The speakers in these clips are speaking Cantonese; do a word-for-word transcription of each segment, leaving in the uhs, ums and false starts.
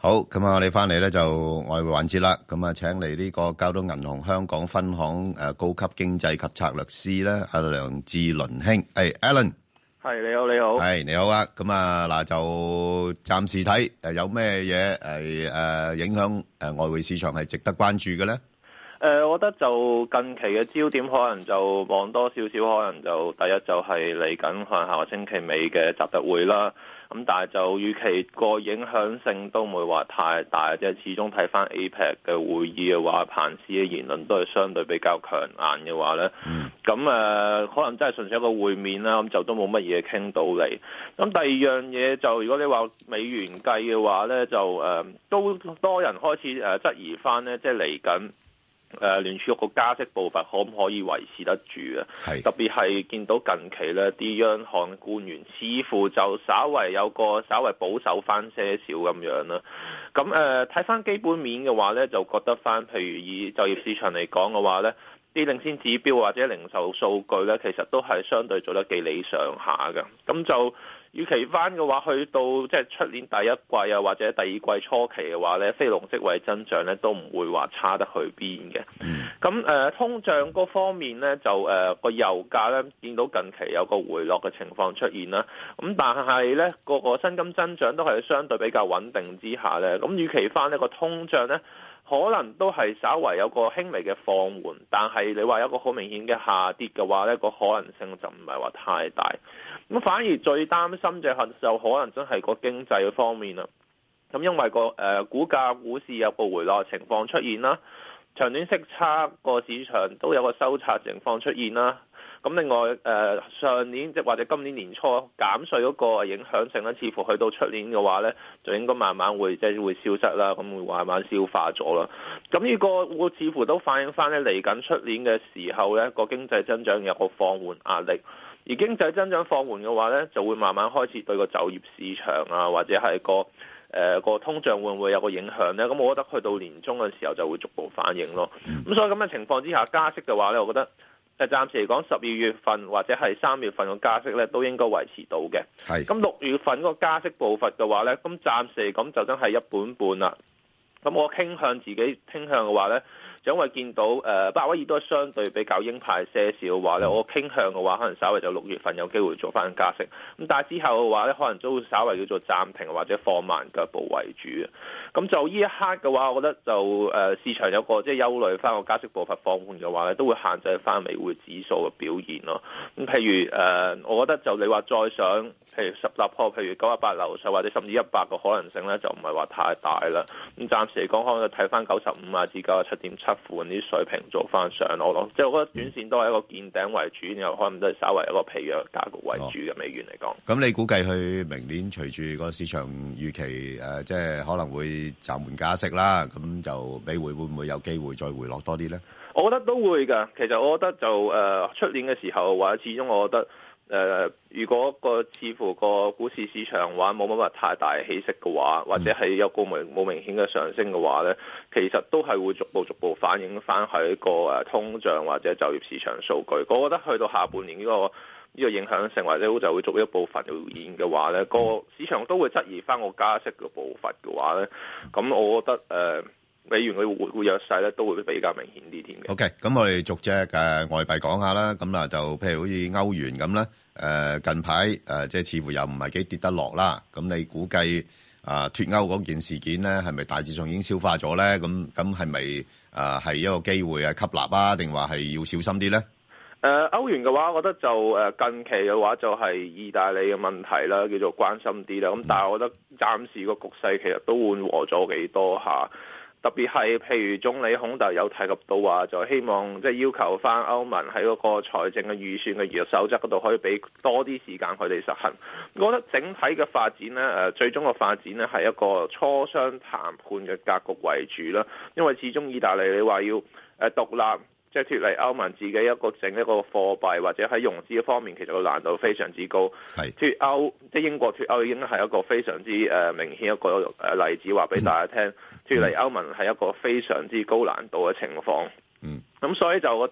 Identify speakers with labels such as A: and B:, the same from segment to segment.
A: 好，咁啊，我哋翻嚟咧就外匯環節啦。咁啊，請嚟呢個交通銀行香港分行誒高級經濟及策略師咧，阿梁志倫兄，係 Alan，
B: 係你好，你好，
A: 係你好啊。咁啊嗱，就暫時睇誒有咩嘢係誒影響誒外匯市場係值得關注嘅咧？
B: 誒、呃，我覺得就近期嘅焦點可能就望多少少，可能就第一就係嚟緊可能下個星期尾嘅習特會啦。咁但係就預期個影響性都唔會話太大，即係始終睇翻 A P E C 嘅會議嘅話，彭斯嘅言論都係相對比較強硬嘅話咧。咁誒、呃，可能真係純粹一個會面啦，咁就都冇乜嘢傾到嚟。咁第二樣嘢就如果你話美元計嘅話咧，就誒、呃、都多人開始誒質疑翻咧，即係嚟緊。誒聯儲局個加息步伐可唔可以維持得住啊？特別係見到近期呢啲央行官員似乎就稍為有個稍為保守翻些少咁樣啦。咁誒睇翻基本面嘅話呢，就覺得翻譬如以就業市場嚟講嘅話呢，啲領先指標或者零售數據呢，其實都係相對做得幾理想下嘅。咁就預期翻嘅話，去到即係出年第一季啊，或者第二季初期嘅話咧，非農職位增長咧都唔會話差得去邊嘅。咁誒、呃、通脹嗰方面咧，就誒個、呃、油價咧見到近期有個回落嘅情況出現啦。咁但係咧個個薪金增長都係相對比較穩定之下咧，咁預期翻呢個通脹咧，可能都係稍為有個輕微嘅放緩，但係你話有個好明顯嘅下跌嘅話咧，個可能性就唔係話太大。咁反而最擔心就係就可能真係個經濟嘅方面啦。咁因為個誒、呃、股價股市有個回落嘅情況出現啦，長短息差個市場都有個收窄情況出現啦。咁另外誒、呃、上年即或者今年年初減稅嗰個影響性咧，似乎去到出年嘅話咧，就應該慢慢會即係會消失啦，咁會慢慢消化咗啦。咁呢個會似乎都反映翻咧嚟緊出年嘅時候咧，個經濟增長有個放緩壓力。而經濟增長放緩嘅話咧，就會慢慢開始對個就業市場啊，或者係個誒、呃、個通脹會唔會有個影響咧？咁我覺得去到年中嘅時候就會逐步反映咯。咁所以咁嘅情況之下，加息嘅話咧，我覺得誒暫時嚟講，十二月份或者係三月份嘅加息咧，都應該維持到嘅。係。咁六月份嗰個加息步伐嘅話咧，咁暫時嚟講就真係一半半啦。咁我傾向自己傾向嘅話咧，就因為見到誒鮑威爾都係相對比較鷹派些少嘅話咧，我傾向嘅話可能稍微就六月份有機會做翻加息，咁但係之後嘅話咧，可能都會稍微叫做暫停或者放慢腳步為主嘅。咁就呢一刻嘅話，我覺得就誒市場有個即係憂慮翻個加息步伐放緩嘅話咧，都會限制翻美匯指數嘅表現咯。咁譬如誒，我覺得就你話再上，譬如十立破，譬如九一八樓上或者甚至一百個可能性咧，就唔係話太大啦。咁暫時嚟講，可能就睇翻九十五啊至九十七點七附近啲水平做翻上落咯。即係我覺得短線都係一個見頂為主，然後可能都係稍為一個疲弱格局為主嘅美元嚟講。
A: 咁、哦、你估計佢明年隨住個市場預期誒、呃，即係可能會暫緩加息啦，咁就美匯會唔會有機會再回落多啲咧？
B: 我覺得都會㗎。其實我覺得就誒出、呃、年嘅時候，或者始終我覺得。誒、呃，如果個似乎個股市市場話冇乜乜太大起色嘅話，或者係有個明冇明顯嘅上升嘅話咧，其實都係會逐步逐步反映翻喺個誒通脹或者就業市場數據。我覺得去到下半年呢、這個呢、這個影響性或者就會逐一部分出現嘅話咧，個市場都會質疑翻個加息嘅步伐嘅話咧，咁我覺得誒。呃美元嘅匯匯弱勢咧，都會比較明顯啲添嘅。
A: OK，咁我哋逐隻誒外幣講下啦。咁啊，就譬如好似歐元咁啦，誒近排誒即係似乎又唔係幾跌得落啦。咁你估計啊脫歐嗰件事件咧，係咪大致上已經消化咗咧？咁咁係咪啊係一個機會啊吸納啊，定話係要小心啲咧？
B: 誒歐元嘅話，我覺得就誒近期嘅話就係意大利嘅問題啦，叫做關心啲啦。咁但係我覺得暫時個局勢其實都緩和咗幾多下。特別係譬如總理孔特有提及到話，就希望即係要求翻歐盟喺嗰個財政嘅預算嘅預約守則嗰度，可以俾多啲時間佢哋實行。我覺得整體嘅發展呢，誒最終嘅發展呢係一個磋商談判嘅格局為主啦。因為始終意大利你話要誒獨立，即係脫離歐盟自己一個整一個貨幣，或者喺融資嘅方面，其實個難度非常之高。係脫歐，即係英國脫歐已經係一個非常之誒明顯一個誒例子，話俾大家聽。脫離歐盟係一個非常之高難度嘅情況。嗯，咁所以就覺得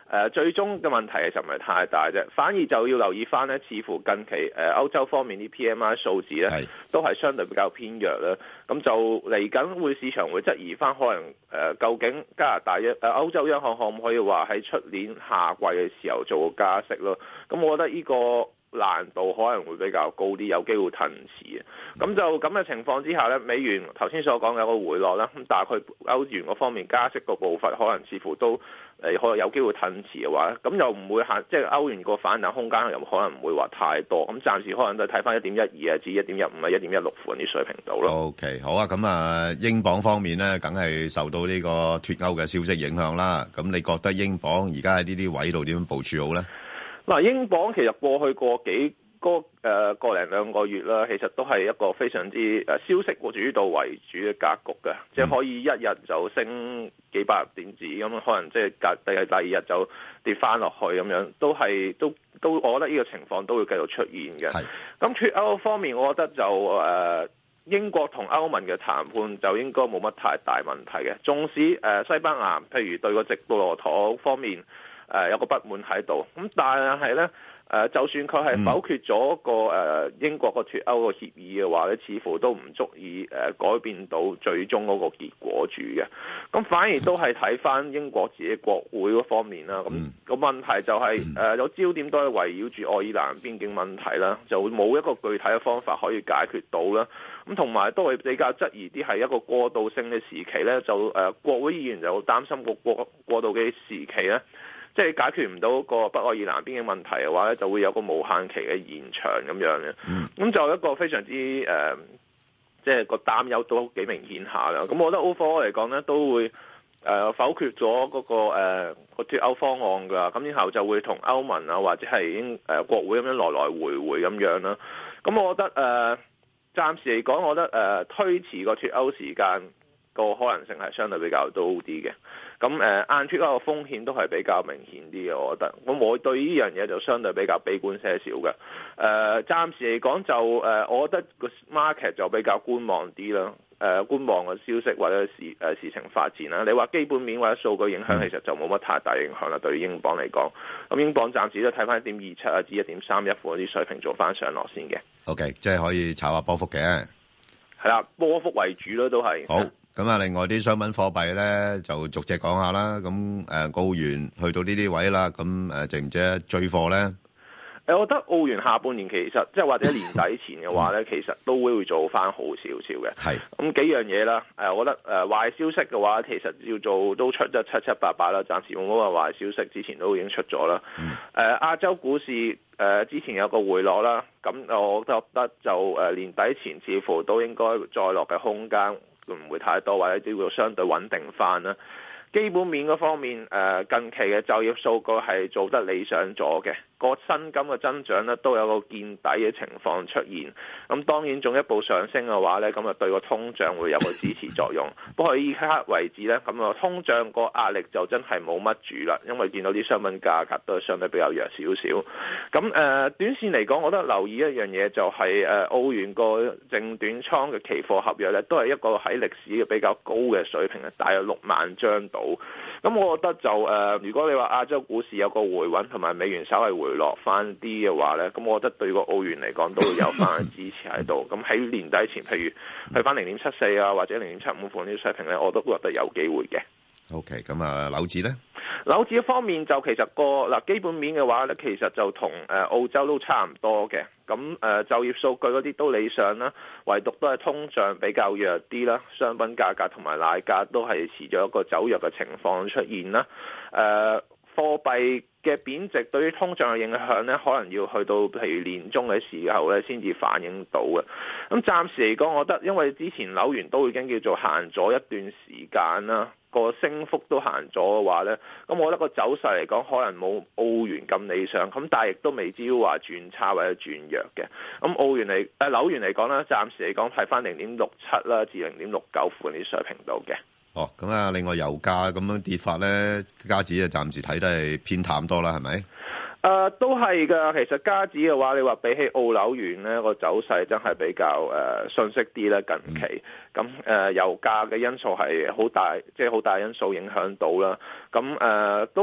B: 誒最終嘅問題其實唔係太大啫，反而就要留意翻咧，似乎近期誒歐洲方面啲 P M I 數字咧都係相對比較偏弱啦。咁就嚟緊會市場會質疑翻，可能誒、呃、究竟加拿大一誒歐洲央行可唔可以話喺出年夏季嘅時候做個加息咯？咁我覺得呢個難度可能會比較高啲，有機會褪遲。咁就咁嘅情況之下咧，美元頭先所講嘅一個回落啦，咁但係佢歐元嗰方面加息個步伐可能似乎都誒可能有機會褪遲嘅話，咁又唔會限，即係歐元個反彈空間又可能唔會話太多。咁暫時可能都睇翻一點一二啊，至一點一五啊，一點一六附近啲水平度咯。
A: OK， 好啊，咁啊，英鎊方面咧，梗係受到呢個脫歐嘅消息影響啦。咁你覺得英鎊而家喺呢啲位度點樣部署好咧？
B: 嗱，英鎊其實過去過幾個誒個零兩個月啦，其實都係一個非常之誒消息主導為主嘅格局嘅，嗯、即係可以一日就升幾百點子咁，可能即係隔第第二日就跌翻落去咁樣，都係都都，我覺得呢個情況都會繼續出現嘅。咁脫歐方面，我覺得就誒、呃、英國同歐盟嘅談判就應該冇乜太大問題嘅，縱使誒、呃、西班牙譬如對個直布羅陀方面，誒、呃、有個不滿喺度，咁但係咧，誒、呃、就算佢係否決咗個誒、呃、英國個脫歐個協議嘅話咧，似乎都唔足以誒、呃、改變到最終嗰個結果住嘅。咁反而都係睇翻英國自己國會嗰方面啦。咁、那個問題就係、是、誒、呃、有焦點都係圍繞住愛爾蘭邊境問題啦，就冇一個具體嘅方法可以解決到啦。咁同埋都係比較質疑啲係一個過渡性嘅時期咧，就誒、呃、國會議員就擔心個過過渡嘅時期咧。即係解決唔到個北愛爾蘭邊境問題嘅話咧，就會有個無限期嘅延長咁樣嘅。咁、嗯、就一個非常之誒、呃，即係個擔憂都幾明顯下啦。咁我覺得 overall 嚟講咧，都會誒、呃、否決咗嗰、那個誒個、呃、脫歐方案㗎。咁然後就會同歐盟啊或者係英誒國會咁樣來來回回咁樣啦。咁我覺得誒、呃、暫時嚟講，我覺得誒、呃、推遲個脫歐時間個可能性係相對比較高啲嘅。咁誒硬脫歐嘅風險都係比較明顯啲嘅，我覺得。咁我對呢樣嘢就相對比較悲觀些少嘅。誒、呃、暫時嚟講就誒、呃，我覺得個 market 就比較觀望啲啦。誒、呃、觀望嘅消息或者事誒、呃、事情發展啦。你話基本面或者數據影響，其實就冇乜太大影響啦。對於英鎊嚟講，咁英鎊暫時都睇翻一點二七啊至一點三一附近啲水平做翻上落先嘅。
A: OK， 即係可以炒下波幅嘅。
B: 係啦，波幅為主咯，都係。
A: 好。咁啊，另外啲商品貨幣咧，就逐隻講下啦。咁誒，澳元去到呢啲位啦，咁誒，值唔值得追貨咧？
B: 誒，我覺得澳元下半年其實即係或者年底前嘅話咧，其實都會做翻好少少嘅。係咁幾樣嘢啦。誒，我覺得誒壞消息嘅話，其實要做都出得七七八八啦。暫時冇乜話壞消息，之前都已經出咗啦。誒、嗯呃，亞洲股市誒、呃、之前有個回落啦，咁我覺得就誒年底前似乎都應該再落嘅空間唔會太多，或者都會相對穩定翻啦。基本面嗰方面，誒近期嘅就業數據係做得理想咗嘅，個薪金嘅增長咧都有個見底嘅情況出現。咁當然進一步上升嘅話咧，咁啊對個通脹會有個支持作用。不過依刻為止咧，咁啊通脹個壓力就真係冇乜住啦，因為見到啲商品價格都係相對比較弱少少。咁誒、呃、短線嚟講，我覺得留意一樣嘢就係、是、誒、呃、澳元個淨短倉嘅期貨合約咧，都係一個喺歷史嘅比較高嘅水平，係大約六萬張到。咁我覺得就誒、呃，如果你話亞洲股市有個回穩，同埋美元稍微回落翻啲嘅話咧，咁我覺得對個澳元嚟講都會有翻支持喺度。咁喺年底前，譬如去翻零點七四啊，或者零點七五附近啲水平咧，我都覺得有機會嘅。
A: OK，咁啊，樓指咧？
B: 樓指方面就其實個嗱基本面嘅話咧，其實就同誒澳洲都差唔多嘅。咁誒就業數據嗰啲都理想啦，唯獨都係通脹比較弱啲啦，商品價格同埋奶價都係持咗一個走弱嘅情況出現啦。誒貨幣嘅貶值對於通脹嘅影響咧，可能要去到譬如年中嘅時候咧，先至反映到嘅。咁暫時嚟講，我覺得因為之前紐元都已經叫做行咗一段時間啦。個升幅都行咗嘅話呢，咁我覺得個走勢嚟講可能冇澳元咁理想，咁但係亦都未至於話轉差或者轉弱嘅。咁澳元嚟誒紐元嚟講呢，暫時嚟講睇翻零點六七啦至零點六九附近啲水平度嘅。
A: 哦，咁啊，另外油價咁樣跌法呢，加指啊暫時睇都係偏淡多啦，係咪？
B: 誒、呃、都係㗎，其實加指嘅話，你話比起澳紐元呢個走勢真係比較誒遜色啲啦。近期咁誒、呃、油價嘅因素係好大，即係好大因素影響到啦。咁誒、呃、都近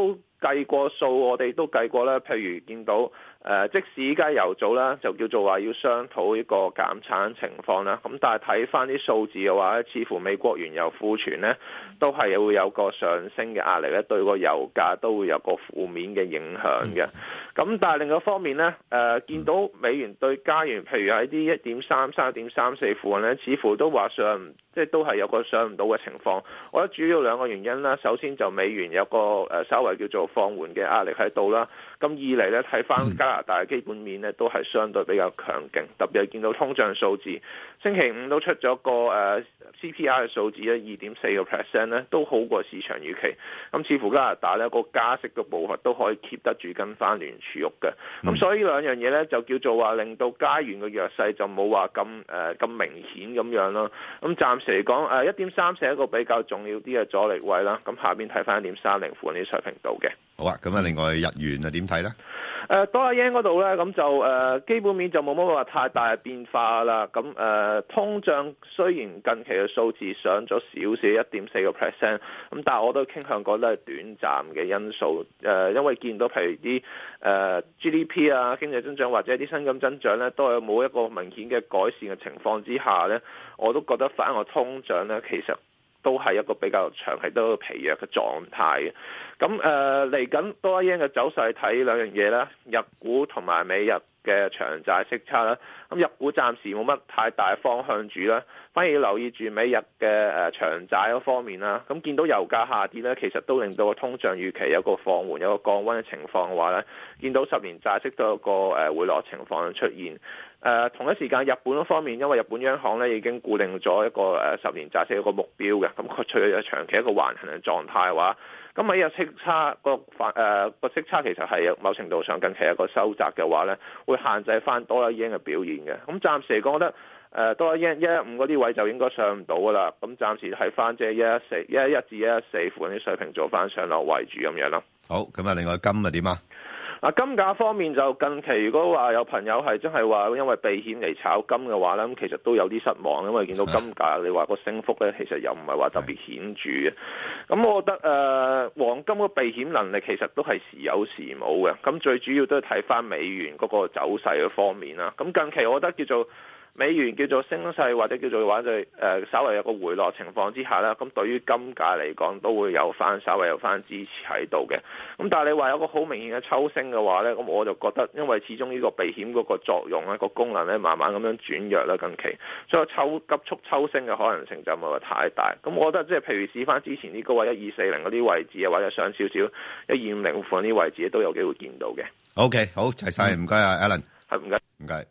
B: 計過數，我哋都計過啦。譬如見到誒、呃，即使依家油組啦，就叫做話要商討呢個減產情況啦。咁但係睇翻啲數字嘅話咧，似乎美國原油庫存咧都係會有個上升嘅壓力咧，對個油價都會有個負面嘅影響嘅。咁但係另一方面咧，誒、呃、見到美元對加元，譬如喺啲一點三三、一點三四附近咧，似乎都話上唔即係都係有個上唔到嘅情況。我覺得主要兩個原因啦，首先就美元有個誒稍微叫做放緩嘅壓力喺度啦。咁二嚟咧，睇翻加拿大嘅基本面咧，都係相對比較強勁，特別係見到通脹數字，星期五都出咗個誒 C P I 嘅數字咧，二點四個 percent 咧，都好過市場預期。咁似乎加拿大咧個加息嘅步伐都可以 keep 得住跟翻聯儲局嘅。咁所以呢兩樣嘢咧，就叫做話令到加元嘅弱勢就冇話咁誒咁明顯咁樣咯。咁暫時嚟講，誒一點三四係一個比較重要啲嘅阻力位啦。咁下邊睇翻一點三零附近啲水平度嘅。
A: 好啊，咁啊，另外日元啊點睇咧？
B: 誒多啦 yen 嗰度咧，咁就誒、呃、基本面就冇乜話太大嘅變化啦。咁誒、呃、通脹雖然近期嘅數字上咗少少一點四個 percent，咁但係我都傾向覺得係短暫嘅因素。誒、呃、因為見到譬如啲誒、呃、G D P 啊經濟增長或者啲薪金增長咧，都係冇一個明顯嘅改善嘅情況之下咧，我都覺得反而個通脹咧其實都係一個比較長期都疲弱嘅狀態嘅。咁誒嚟緊多一 yen 嘅走勢睇兩樣嘢啦，日股同埋美日嘅長債息差啦。咁日股暫時冇乜太大方向住啦，反而要留意住美日嘅誒長債嗰方面啦。咁見到油價下跌咧，其實都令到個通脹預期有個放緩、有個降溫嘅情況嘅話咧，見到十年債息都有個誒回落情況出現。誒、呃、同一時間，日本嗰方面，因為日本央行咧已經固定咗一個誒、呃、十年債息一個目標嘅，咁佢除咗長期一個橫行嘅狀態嘅話，咁美日息差個反誒個息差其實係某程度上近期一個收窄嘅話咧，會限制翻多一 yen 嘅表現嘅。咁暫時嚟講，我覺得誒多一 yen 一一五嗰啲位就應該上唔到噶啦。咁暫時睇翻即係一一四、一一一至一一四附近啲水平做翻上落為主咁樣咯。
A: 好，咁啊，另外金啊點啊？
B: 啊，金價方面就近期如果話有朋友係真係話因為避險嚟炒金嘅話咧，咁其實都有啲失望，因為見到金價你話個升幅咧，其實又唔係話特別顯著嘅。咁我覺得誒、呃、黃金個避險能力其實都係時有時冇嘅。咁最主要都係睇翻美元嗰個走勢嘅方面啦。咁近期我覺得叫做美元叫做升勢或者叫做話就誒、呃、稍微有個回落情況之下啦，咁對於金價嚟講都會有翻稍微有翻支持喺度嘅。咁但係你話有個好明顯嘅抽升嘅話咧，咁我就覺得因為始終呢個避險嗰個作用咧，個功能咧慢慢咁樣轉弱啦近期，所以抽急速抽升嘅可能性就唔係話太大。咁我覺得即係譬如試翻之前啲高位一二四零嗰啲位置啊，或者上少少一二五零附近啲位置都有機會見到嘅。
A: OK， 好，齊晒，唔該啊 Alan，
B: 係唔該，
A: 唔該。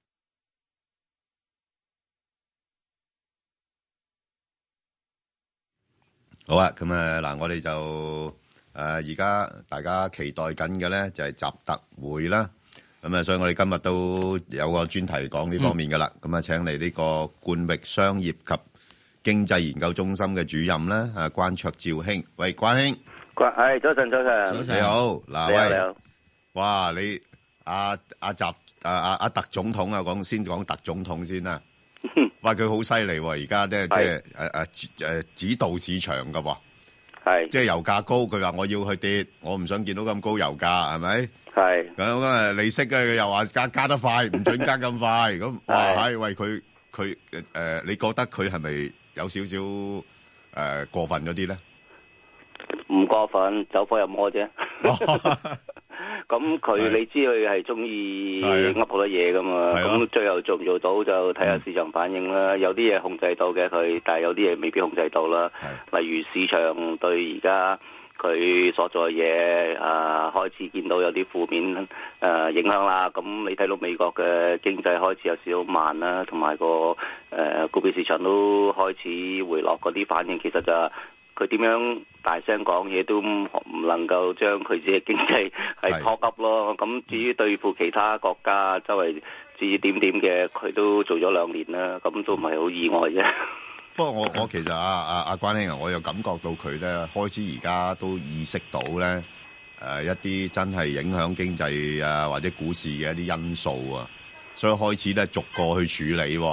A: 好啊，咁啊嗱，我哋就誒而家大家期待緊嘅咧就係習特會啦，咁啊，所以我哋今日都有個專題講呢方面噶啦，咁啊、嗯，請嚟呢個冠域商業及經濟研究中心嘅主任啦，啊關焯照兄，喂關兄，
C: 關係早晨早晨，
A: 你好，嗱喂，
C: 你好，
A: 哇你阿阿習阿阿阿特總統啊，講先講特總統先啦。哇！佢好犀利喎，而家即係即係誒誒誒指導市場噶喎，係即係油價高，佢話我要去跌，我唔想見到咁高油價，係咪？係咁啊！利息嘅佢又話加加得快，唔准加咁快，咁哇！係喂佢佢誒，你覺得佢係咪有少少誒過分咗啲咧？
C: 唔過分，走火入魔啫。咁佢你知佢係中意噏好多嘢噶嘛？咁最後做唔做到就睇下市場反應啦。有啲嘢控制到嘅佢，但係有啲嘢未必控制到啦。例如市場對而家佢所做嘅嘢啊，開始見到有啲負面誒、呃、影響啦。咁你睇到美國嘅經濟開始有少少慢啦，同埋個誒股票市場都開始回落，嗰啲反應其實就係佢點樣大聲講嘢都唔能夠將佢自己經濟係拖急咯。咁至於對付其他國家周圍指指點點嘅，佢都做咗兩年啦，咁都唔係好意外啫。
A: 不過我我其實阿阿阿關兄啊，我又感覺到佢咧開始而家都意識到咧誒、呃、一啲真係影響經濟啊或者股市嘅一啲因素啊，所以開始咧逐個去處理、啊。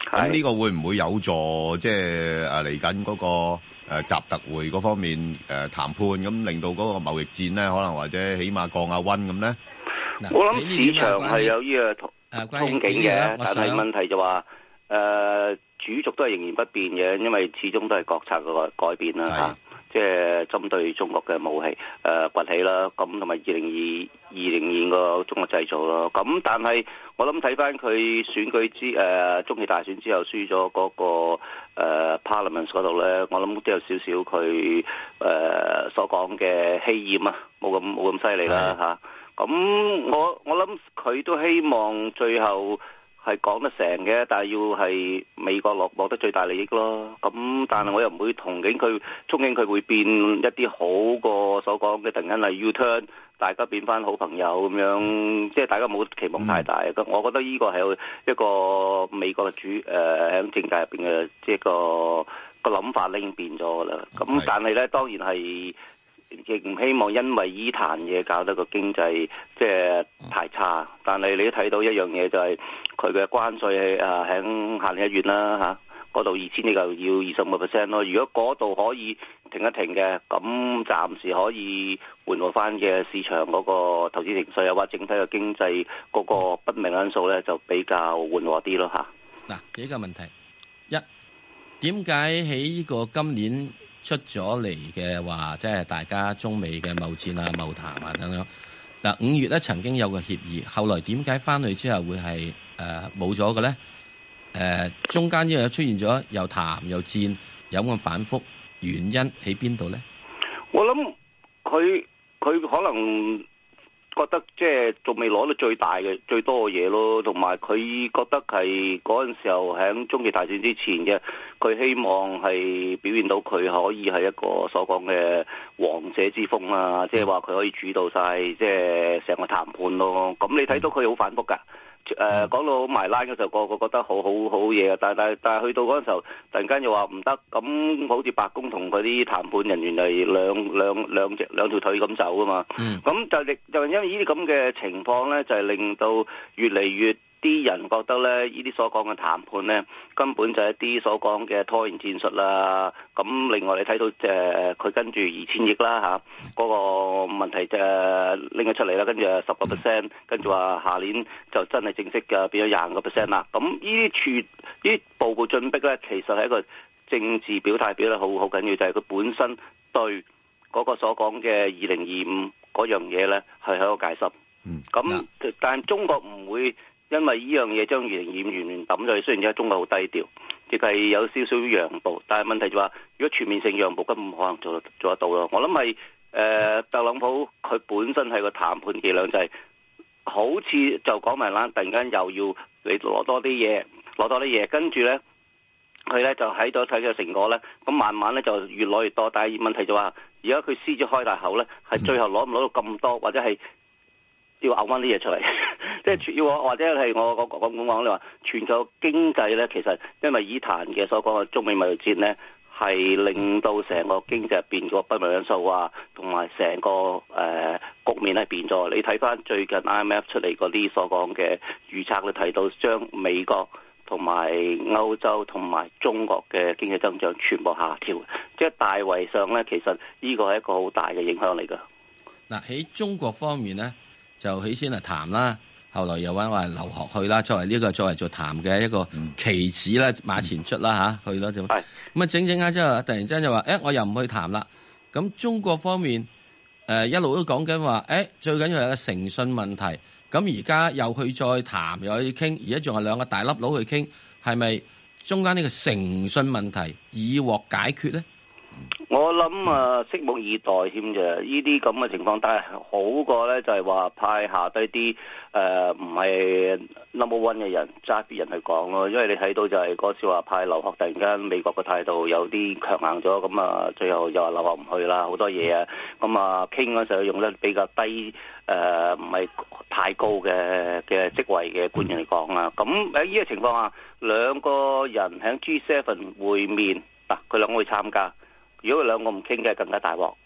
A: 咁呢個會唔會有助即係誒嚟緊嗰個誒習特會嗰方面誒談判，咁令到嗰個貿易戰咧，可能或者起碼降下溫咁咧？
C: 我諗市場係有呢個憧憬嘅，但係問題就話誒主軸都係仍然不變嘅，因為始終都係國策嘅改變啦嚇。即係針對中國嘅武器誒、呃、崛起啦，咁同埋二零二二零年個中國製造咯。咁但係我諗睇翻佢選舉之誒、呃、中期大選之後輸咗嗰、那個、呃、Parliament 嗰度咧，我諗都有少少佢誒、呃、所講嘅氣焰啊，冇咁冇咁犀利啦嚇。咁我我諗佢都希望最後係講得成嘅，但係要係美國落獲得最大利益咯。咁但係我又唔會同情佢，憧憬佢會變一啲好過所講嘅突然間係 U-turn， 大家變翻好朋友咁樣，即係大家冇期望太大。咁、嗯、我覺得呢個係一個美國嘅主誒喺、呃、政界入邊嘅即係個個諗法咧已經變咗噶啦。咁但係咧當然係。亦唔希望因為依壇嘢搞得個經濟即係太差，但係你都睇到一樣嘢就係佢嘅關稅啊喺下年一月啦嚇，嗰度二千億就要二十五個 percent 咯。如果嗰度可以停一停嘅，咁暫時可以緩和翻嘅市場嗰個投資情緒啊，或者整體嘅經濟嗰個不明因素咧，就比較緩和啲咯嚇。
D: 嗱，幾個問題，一點解喺呢個今年出咗嚟嘅話，即係大家中美嘅貿戰啊、貿談啊等等。嗱，五月咧曾經有個協議，後來點解翻去之後會係誒冇咗嘅咧？誒、呃，中間因為出現咗又談又戰，有咁反覆，原因喺邊度咧？
C: 我諗佢佢可能覺得即係仲未攞到最大嘅最多嘅嘢咯，同埋佢覺得係嗰陣時候喺中期大選之前嘅，佢希望係表現到佢可以係一個所講嘅王者之風啊，即係話佢可以主導晒即係成個談判咯。咁你睇到佢好反覆㗎。誒、呃、講到埋欄嘅時候，個個覺得好好好嘢啊！但係但係但係去到嗰陣時候，突然間又話唔得，咁好似白宮同嗰啲談判人員係兩兩兩隻兩條腿咁走啊嘛。咁、嗯、就亦就因為呢啲咁嘅情況咧，就係、是、令到越嚟越啲人覺得咧，呢啲所講嘅談判咧，根本就係一啲所講嘅拖延戰術啦。咁另外你睇到誒佢跟住二千億啦嚇，嗰、那個問題就拎咗出嚟啦，跟住十個 percent， 跟住話下年就真係正式嘅變咗廿五個 percent 啦。咁呢啲處呢啲步步進逼咧，其實係一個政治表態表得好好緊要，就係、是、佢本身對嗰個所講嘅二零二五嗰樣嘢咧係喺個戒心。咁、嗯、但係中國唔會。因為呢樣嘢將二零二五完全抌咗去，雖然而家中國好低調，亦係有少少讓步，但係問題就話，如果全面性讓步，根本唔可能做做得到咯。我諗係誒特朗普佢本身係個談判伎倆，就係、是、好似就講埋啦，突然間又要你攞多啲嘢，攞多啲嘢，跟住咧佢咧就喺度睇嘅成果咧，咁慢慢咧就越攞越多。但係問題就話，而家佢獅子開大口咧，係最後攞唔攞到咁多，或者係要嘔翻啲嘢出嚟，即係要我或者係我我講講講你話全球經濟咧，其實因為以壇嘅所講嘅中美貿易戰咧，係令到成個經濟入邊個不明因素啊，同埋成個誒、呃、局面係變咗。你睇翻最近 I M F 出嚟嗰啲所講嘅預測，你睇到將美國同埋歐洲同埋中國嘅經濟增長全部下調，即係大圍上咧，其實呢個係一個好大嘅影響嚟㗎。
D: 嗱，喺中國方面咧，就起先係談啦，後來又揾話留學去啦，作為呢、這個作為做談嘅一個棋子啦，馬前出啦吓、嗯，去啦就咁啊，整整下之後，突然之間就話，誒、欸，我又唔去談啦。咁中國方面誒、呃、一路都講緊話，誒、欸，最緊要係個誠信問題。咁而家又去再談，又去傾，而家仲係兩個大粒佬去傾，係咪中間呢個誠信問題已獲解決咧？
C: 我諗啊，拭目以待添啫。呢啲咁嘅情況，但係好過咧，就係話派下低啲誒唔係 number one 嘅人揸啲人去講咯。因為你睇到就係嗰次話派留學，突然間美國嘅態度有啲強硬咗，咁啊最後又話留學唔去啦，好多嘢啊。咁啊傾嗰時候用得比較低誒，唔係太高嘅嘅職位嘅官員嚟講啊。咁喺呢個情況下，兩個人喺 G 七 會面嗱，佢兩個會參加。如果佢兩個唔傾嘅，更加大鑊。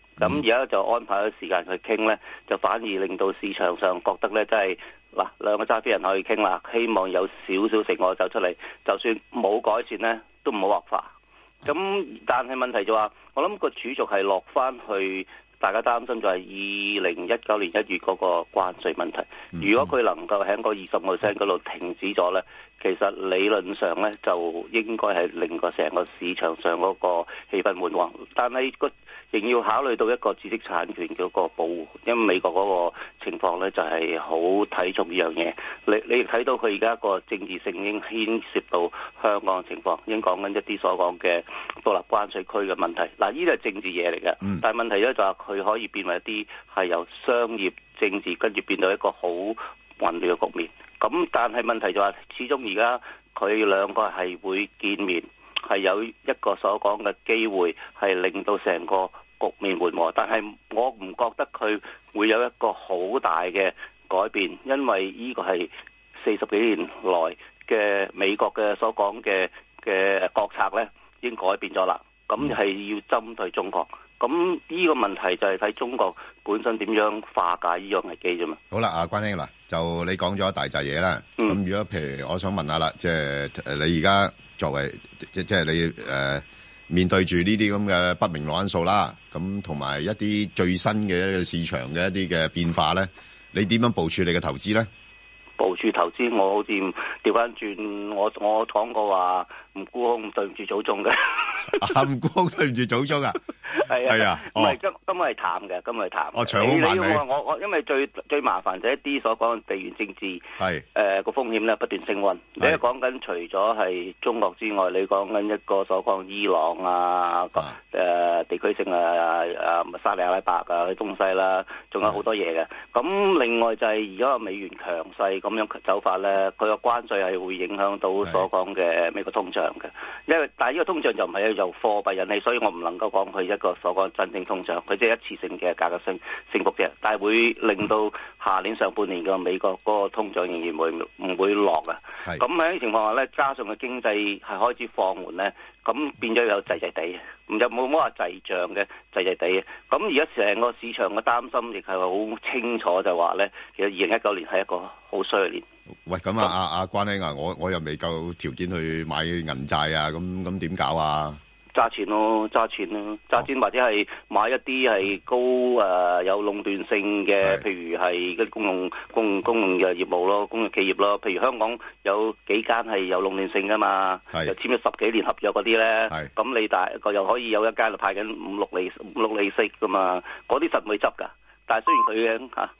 C: 咁而家就安排咗時間去傾咧，就反而令到市場上覺得咧，真係嗱兩個揸飛人可以傾啦，希望有少少成果走出嚟，就算冇改善咧，都唔好惡化。咁但係問題就話，我諗個主軸係落翻去。大家擔心就係二零一九年一月嗰個關稅問題，如果佢能夠喺個二十個 percent 嗰度停止咗呢，其實理論上呢就應該係令個成個市場上嗰個氣氛緩和，但係個仍要考慮到一個知識產權嘅一個保護，因為美國嗰個情況呢就係好睇重呢樣嘢。你你睇到佢而家個政治性已經牽涉到香港嘅情況，已經講緊一啲所講嘅獨立關稅區嘅問題。嗱，呢啲係政治嘢嚟嘅，嗯、但係問題咧就係佢可以變為一啲係由商業政治跟住變到一個好混亂嘅局面。咁但係問題就係，始終而家佢兩個係會見面，係有一個所講嘅機會，係令到成個局面緩和。但係我唔覺得佢會有一個好大嘅改變，因為呢個係四十幾年來嘅美國嘅所講嘅嘅國策咧，已經改變咗啦。咁係要針對中國。咁呢個問題就係睇中國本身點樣化解呢樣危機啫嘛。
A: 好啦，阿關兄嗱，就你講咗一大紮嘢啦。咁、嗯、如果譬如我想問下啦，即係你而家作為即即係你誒、呃、面對住呢啲咁嘅不明朗因素啦，咁同埋一啲最新嘅一個市場嘅一啲嘅變化咧，你點樣部署你嘅投資咧？
C: 部署投資，我好似調翻轉，我我講過話唔沽空，對唔住祖宗嘅。
A: 唔沽空對唔住祖宗啊！
C: 係啊，係啊，唔係今今日係淡嘅，今日係淡。
A: 哦，長好慢你。
C: 我我因為最最麻煩就係一啲所講嘅地緣政治
A: 係
C: 誒個風險咧不斷升溫。你講緊除咗係中國之外，你講緊一個所講伊朗啊，誒、呃、地區性啊誒沙地阿拉伯啊東西啦，仲有好多嘢嘅。咁另外就係而家個美元強勢咁樣走法咧，佢個關稅係會影響到所講嘅美國通脹嘅。因為但係呢個通脹就唔係由貨幣引起，所以我唔能夠講佢一個所講真正通脹，佢即係一次性嘅價格升升幅啫。但係會令到下年上半年嘅美國嗰個通脹仍然會唔會落啊？咁喺呢個情況下咧，加上個經濟係開始放緩咧，咁變咗有滯滯地，唔就冇乜話滯脹嘅滯滯地。咁而家成個市場嘅擔心亦係好清楚，就話咧，其實二零一九年係一個好衰嘅年。
A: 喂，咁啊，阿阿關兄啊，我我又未夠條件去買銀債啊，咁咁點搞啊？
C: 揸錢咯，揸錢咯，揸錢或者係買一啲係高誒、呃、有壟斷性嘅，譬如係嗰啲公用公公用嘅業務咯，公用企業咯。譬如香港有幾間係有壟斷性噶嘛，又簽咗十幾年合約嗰啲咧。咁你大個又可以有一間就派緊五六厘五六厘息噶嘛，嗰啲實唔會執噶。但係雖然佢嘅嚇